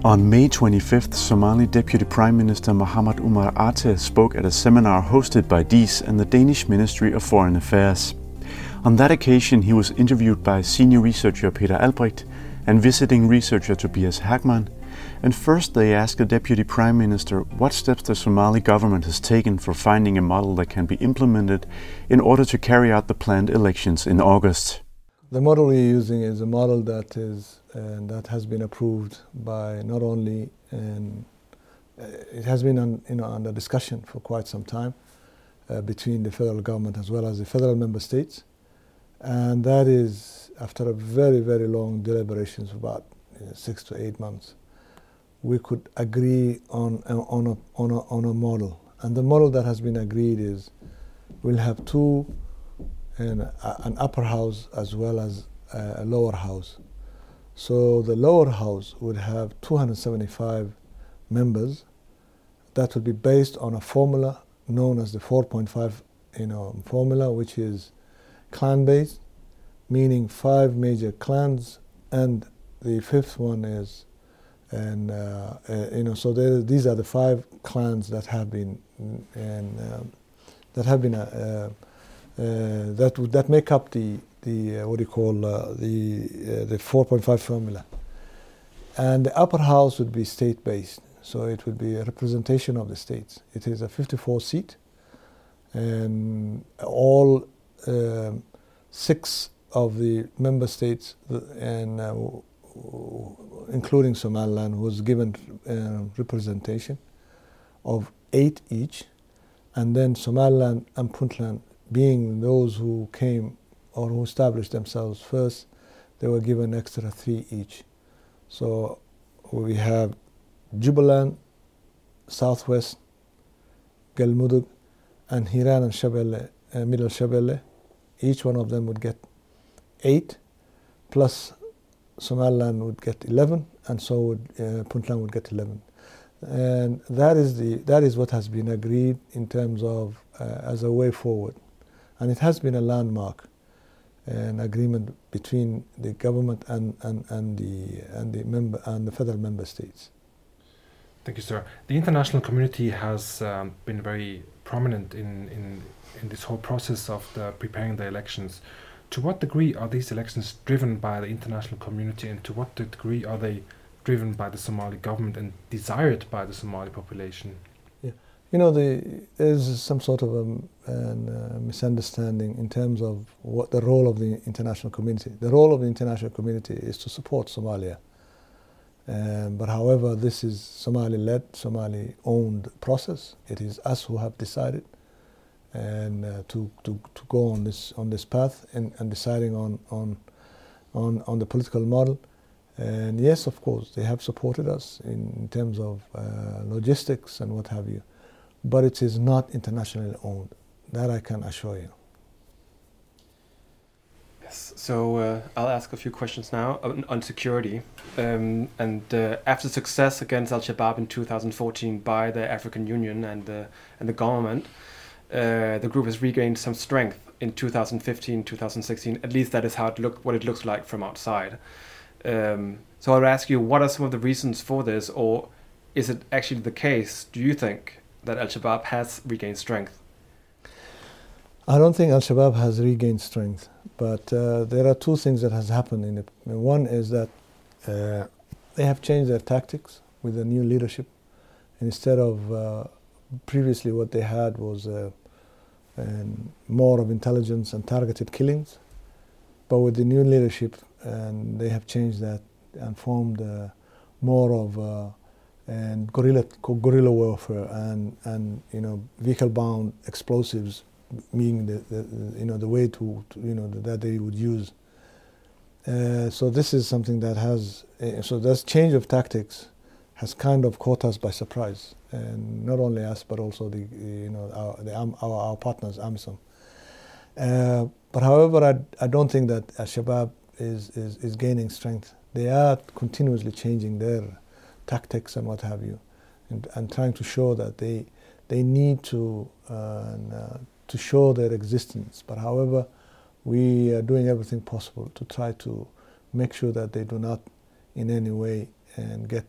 On May 25th, Somali Deputy Prime Minister Mohamed Umar Ate spoke at a seminar hosted by DIS and the Danish Ministry of Foreign Affairs. On that occasion, he was interviewed by senior researcher Peter Albrecht and visiting researcher Tobias Hagman. And first they asked the Deputy Prime Minister what steps the Somali government has taken for finding a model that can be implemented in order to carry out the planned elections in August. The model we're using is a model that has been approved by not only, it has been under discussion for quite some time between the federal government as well as the federal member states, and that is after a very, very long deliberations of about 6 to 8 months. We could agree on a model, and the model that has been agreed is we'll have two, an upper house as well as a lower house. So the lower house would have 275 members. That would be based on a formula known as the 4.5 formula, which is clan-based, meaning 5 major clans, and the fifth one is, so these are the 5 clans that have been that make up the 4.5 formula. And the upper house would be state-based, so it would be a representation of the states. It is a 54 seat, and all 6 of the member states, and including Somaliland, was given representation of 8 each, and then Somaliland and Puntland, being those who came or who established themselves first, they were given extra 3 each. So we have Jubaland, Southwest, Galmudug, and Hiran and Shabelle, Middle Shabelle. Each one of them would get 8, plus Somaliland would get 11, and so would Puntland would get 11. And that is what has been agreed in terms of as a way forward. And it has been a landmark, an agreement between the government and the federal member states. Thank you, sir. The international community has been very prominent in this whole process of preparing the elections. To what degree are these elections driven by the international community, and to what degree are they driven by the Somali government and desired by the Somali population? There's some sort of a misunderstanding in terms of what the role of the international community. The role of the international community is to support Somalia. But however, this is Somali-led, Somali-owned process. It is us who have decided and to go on this path and deciding on the political model. And yes, of course, they have supported us in terms of logistics and what have you. But it is not internationally owned. That I can assure you. Yes. So I'll ask a few questions now on security. After success against Al-Shabaab in 2014 by the African Union and the government, the group has regained some strength in 2015, 2016. At least that is what it looks like from outside. So I'll ask you, what are some of the reasons for this, or is it actually the case, do you think, that Al-Shabaab has regained strength? I don't think Al-Shabaab has regained strength, but there are 2 things that has happened. One is that they have changed their tactics with the new leadership. Instead of previously what they had was more of intelligence and targeted killings, but with the new leadership, and they have changed that and formed more of and guerrilla warfare and vehicle-bound explosives, being the way that they would use. So this is something that has this change of tactics has kind of caught us by surprise, and not only us but also our partners, AMISOM. But however, I don't think that Al-Shabaab is gaining strength. They are continuously changing their tactics and what have you, and trying to show that they need to show their existence. But however, we are doing everything possible to try to make sure that they do not in any way and get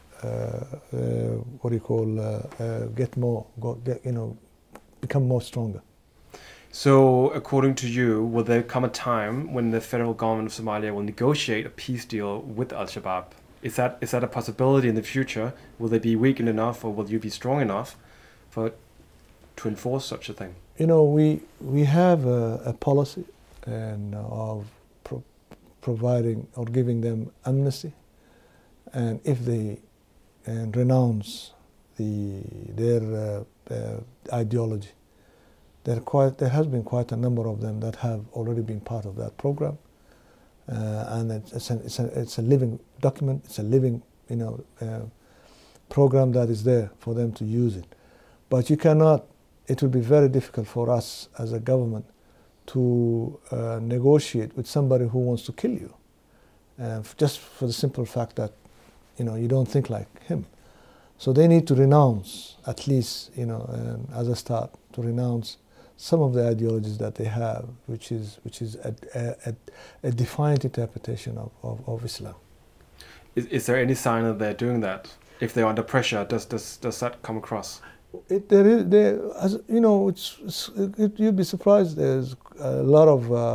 become more stronger. So, according to you, will there come a time when the federal government of Somalia will negotiate a peace deal with Al-Shabaab? Is that a possibility in the future? Will they be weakened enough, or will you be strong enough to enforce such a thing? We have a policy of providing or giving them amnesty, and if they renounce their ideology. There has been quite a number of them that have already been part of that program, and it's a living document. It's a living program that is there for them to use it. But you cannot. It will be very difficult for us as a government to negotiate with somebody who wants to kill you, just for the simple fact that you don't think like him. So they need to renounce, at least as a start, to renounce some of the ideologies that they have, which is a defiant interpretation of Islam. Is there any sign that they're doing that? If they're under pressure, does that come across? You'd be surprised. There's a lot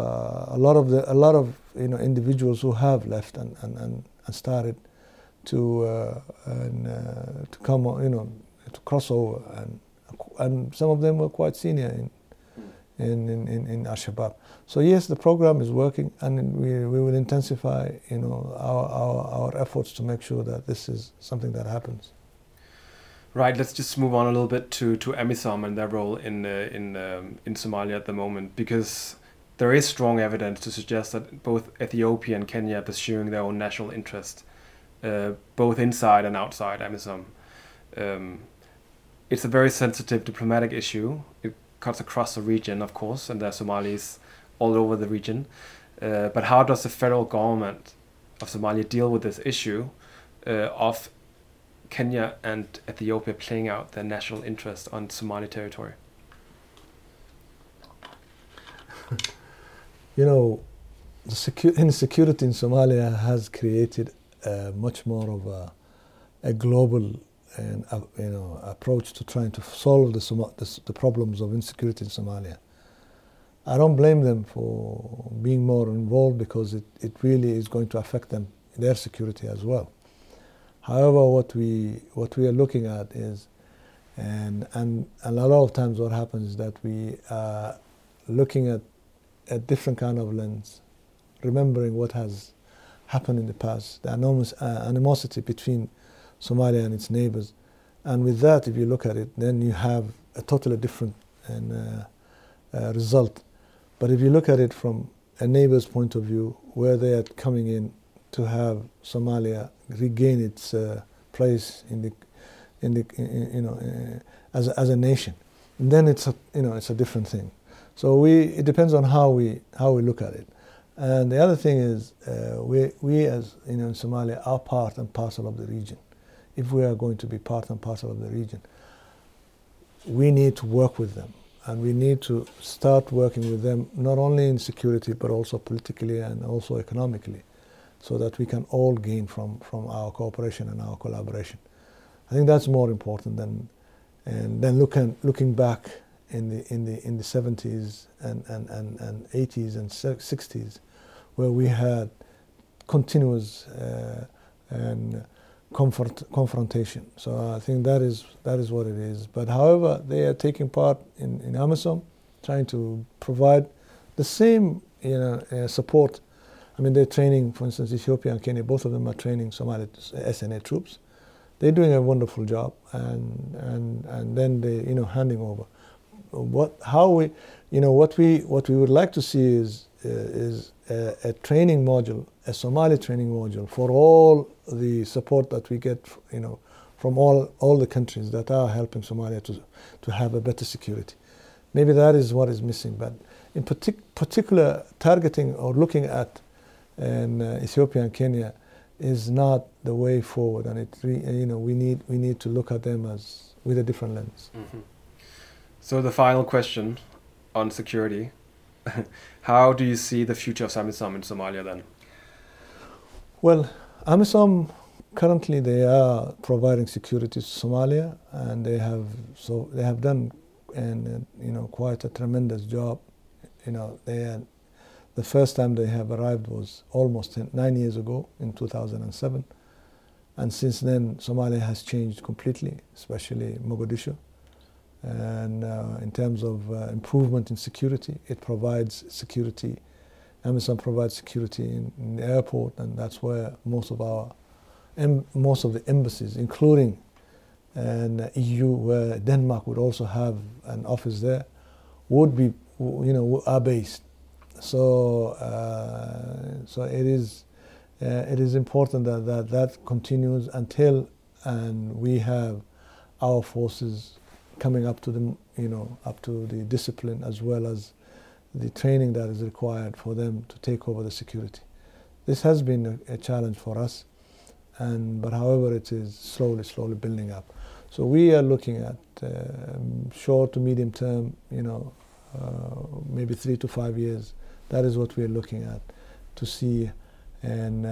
of individuals who have left and started to come to cross over, and some of them were quite senior in Al-Shabaab. So yes, the program is working, and we will intensify our efforts to make sure that this is something that happens. Right. Let's just move on a little bit to AMISOM and their role in Somalia at the moment, because there is strong evidence to suggest that both Ethiopia and Kenya are pursuing their own national interest, both inside and outside AMISOM. It's a very sensitive diplomatic issue. It cuts across the region, of course, and there are Somalis all over the region. But how does the federal government of Somalia deal with this issue of Kenya and Ethiopia playing out their national interest on Somali territory? Insecurity in Somalia has created much more of a global approach to trying to solve the problems of insecurity in Somalia. I don't blame them for being more involved, because it really is going to affect their security as well. However, what we are looking at is, and a lot of times what happens is that we are looking at a different kind of lens, remembering what has happened in the past, the animosity between Somalia and its neighbors. And with that, if you look at it, then you have a totally different result. But if you look at it from a neighbor's point of view, where they are coming in to have Somalia regain its place as a nation, and then it's a different thing. So it depends on how we look at it. And the other thing is, we as in Somalia are part and parcel of the region. If we are going to be part and parcel of the region, we need to work with them, and we need to start working with them not only in security but also politically and also economically, so that we can all gain from our cooperation and our collaboration. I think that's more important than looking back in the 70s and 80s and 60s, where we had continuous confrontation. So I think that is what it is. But however, they are taking part in AMISOM, trying to provide the same support. I mean, they're training, for instance, Ethiopia and Kenya, both of them are training Somali SNA troops. They're doing a wonderful job, and then they handing over. What we would like to see is a training module, a Somali training module for all the support that we get, from all the countries that are helping Somalia to have a better security. Maybe that is what is missing. But in particular, targeting or looking at Ethiopia and Kenya is not the way forward, and we need to look at them as with a different lens. Mm-hmm. So the final question on security: how do you see the future of AMISOM in Somalia then? Well, AMISOM currently they are providing security to Somalia, and they have done quite a tremendous job. The first time they have arrived was almost 9 years ago in 2007, and since then Somalia has changed completely, especially Mogadishu. And in terms of improvement in security, it provides security. AMISOM provides security in the airport, and that's where most of the embassies, including EU, where Denmark would also have an office there, are based. So it is important that continues until we have our forces coming up to the discipline, as well as the training that is required for them to take over the security. This has been a challenge for us, but however, it is slowly building up. So we are looking at short to medium term, maybe 3 to 5 years. That is what we are looking at to see, and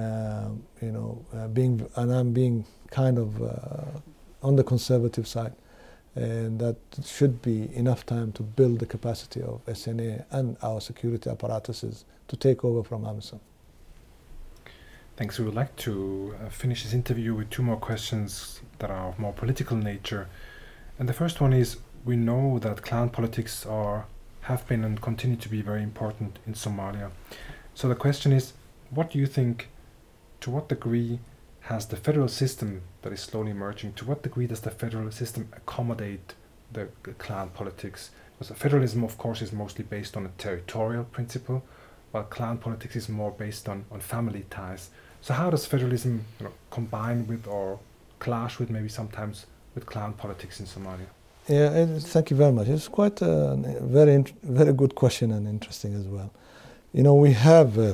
I'm being kind of on the conservative side. And that should be enough time to build the capacity of SNA and our security apparatuses to take over from AMISOM. Thanks. We would like to finish this interview with 2 more questions that are of more political nature. And the first one is, we know that clan politics have been and continue to be very important in Somalia. So the question is, what do you think, to what degree has the federal system that is slowly emerging, to what degree does the federal system accommodate the clan politics? Because federalism, of course, is mostly based on a territorial principle, while clan politics is more based on family ties. So how does federalism combine with or clash with, maybe sometimes, with clan politics in Somalia? Yeah, thank you very much. It's quite a very good question, and interesting as well. We have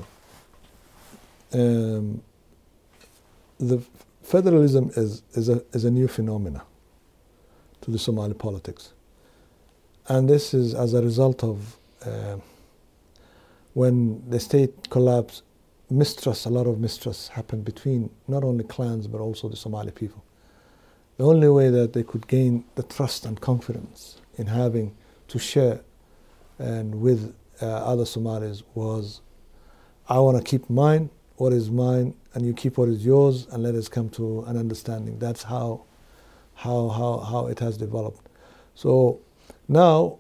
the federalism is a new phenomena to the Somali politics, and this is as a result of when the state collapsed, a lot of mistrust happened between not only clans but also the Somali people. The only way that they could gain the trust and confidence in having to share and with other Somalis was, I want to keep what is mine, and you keep what is yours, and let us come to an understanding. That's how it has developed. So now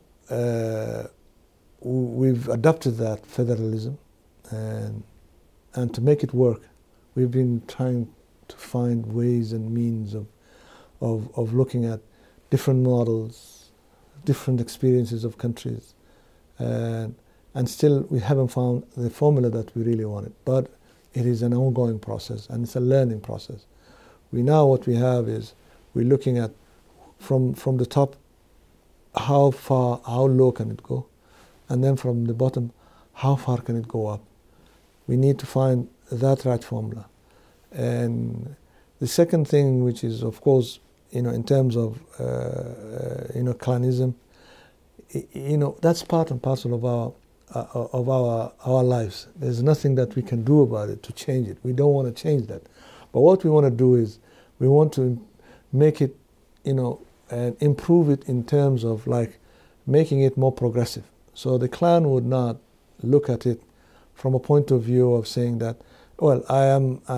we've adopted that federalism, and to make it work, we've been trying to find ways and means of looking at different models, different experiences of countries, and still we haven't found the formula that we really wanted. But it is an ongoing process, and it's a learning process. What we have is we're looking at from the top, how low can it go, and then from the bottom, how far can it go up. We need to find that right formula. And the second thing, which is, of course, in terms of clanism, that's part and parcel of our lives. There's nothing that we can do about it to change it. We don't want to change that. But what we want to do is we want to make it, and improve it in terms of making it more progressive. So the clan would not look at it from a point of view of saying that, well, I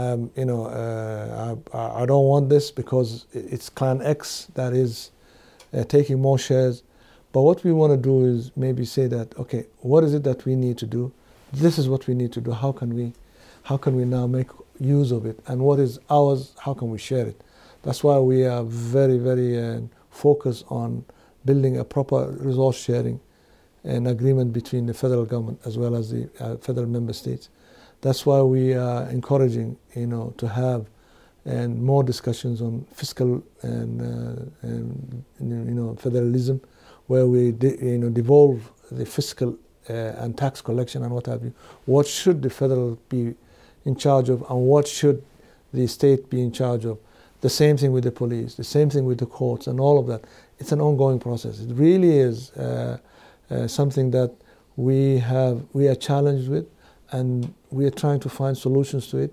don't want this because it's clan X that is taking more shares. But what we want to do is maybe say that, okay, what is it that we need to do? This is what we need to do. How can we now make use of it? And what is ours? How can we share it? That's why we are very, very focused on building a proper resource sharing and agreement between the federal government as well as the federal member states. That's why we are encouraging, to have more discussions on fiscal and federalism, where we devolve the fiscal and tax collection and what have you. What should the federal be in charge of, and what should the state be in charge of? The same thing with the police, the same thing with the courts, and all of that. It's an ongoing process. It really is something that we are challenged with, and we are trying to find solutions to it.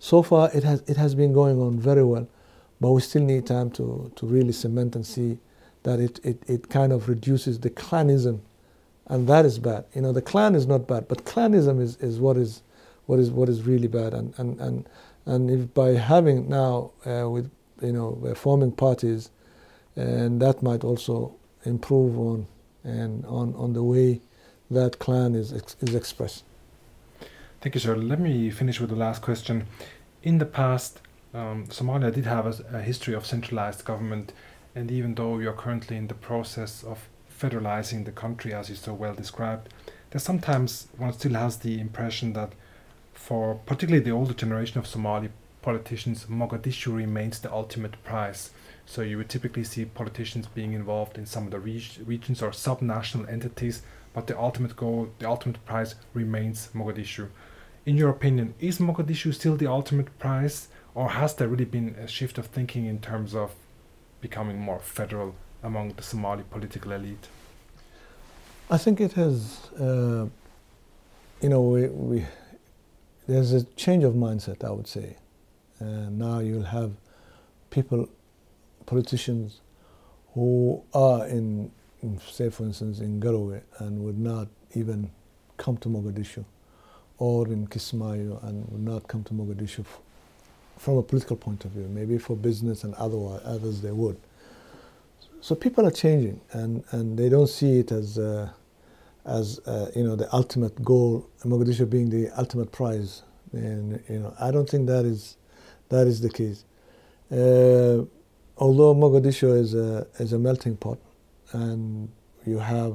So far, it has been going on very well, but we still need time to really cement and see that it kind of reduces the clanism, and that is bad. You know, the clan is not bad, but clanism is what is really bad. And if by having now with forming parties, and that might also improve on the way that clan is expressed. Thank you, sir. Let me finish with the last question. In the past, Somalia did have a history of centralized government, and even though we are currently in the process of federalizing the country, as you so well described, there's sometimes one still has the impression that for particularly the older generation of Somali politicians, Mogadishu remains the ultimate prize. So you would typically see politicians being involved in some of the regions or subnational entities, but the ultimate goal, the ultimate prize remains Mogadishu. In your opinion, is Mogadishu still the ultimate prize, or has there really been a shift of thinking in terms of becoming more federal among the Somali political elite? I think it has, there's a change of mindset, I would say. Now you'll have politicians who are in, say for instance, in Garowe and would not even come to Mogadishu, or in Kismayo and would not come to Mogadishu from a political point of view. Maybe for business and others they would. So people are changing, and they don't see it as the ultimate goal, Mogadishu being the ultimate prize. And I don't think that is the case. Although Mogadishu is a melting pot, and you have,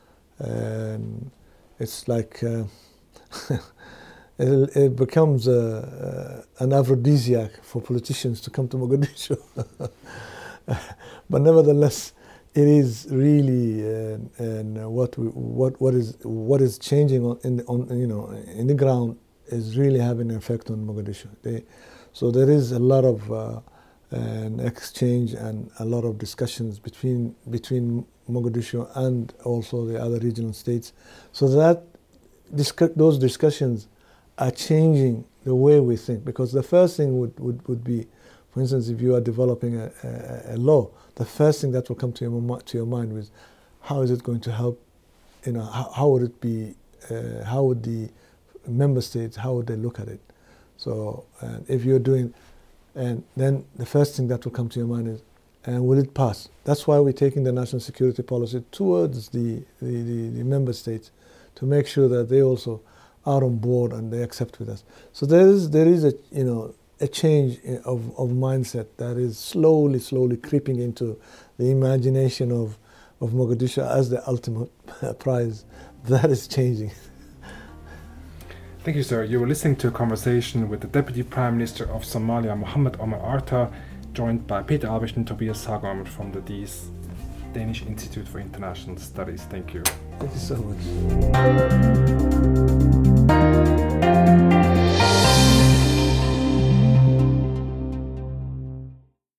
it's like it becomes an aphrodisiac for politicians to come to Mogadishu. But nevertheless, it is really what is changing in the ground is really having an effect on Mogadishu. So there is a lot of an exchange and a lot of discussions between Mogadishu and also the other regional states. So that those discussions are changing the way we think, because the first thing would be, for instance, if you are developing a law, the first thing that will come to your mind is, how is it going to help? How would it be? How would the member states? How would they look at it? So, if you're doing, and then the first thing that will come to your mind is, and will it pass? That's why we're taking the national security policy towards the member states to make sure that they also are on board and they accept with us. So there is a change of mindset that is slowly creeping into the imagination of Mogadishu as the ultimate prize. That is changing. Thank you, sir. You were listening to a conversation with the Deputy Prime Minister of Somalia, Mohamed Omar Arta, joined by Peter Albrecht and Tobias Sagom from the Danish Institute for International Studies. Thank you. Thank you so much.